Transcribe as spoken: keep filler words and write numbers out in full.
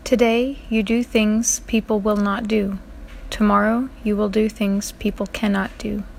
Today, you do things people will not do. Tomorrow, you will do things people cannot do.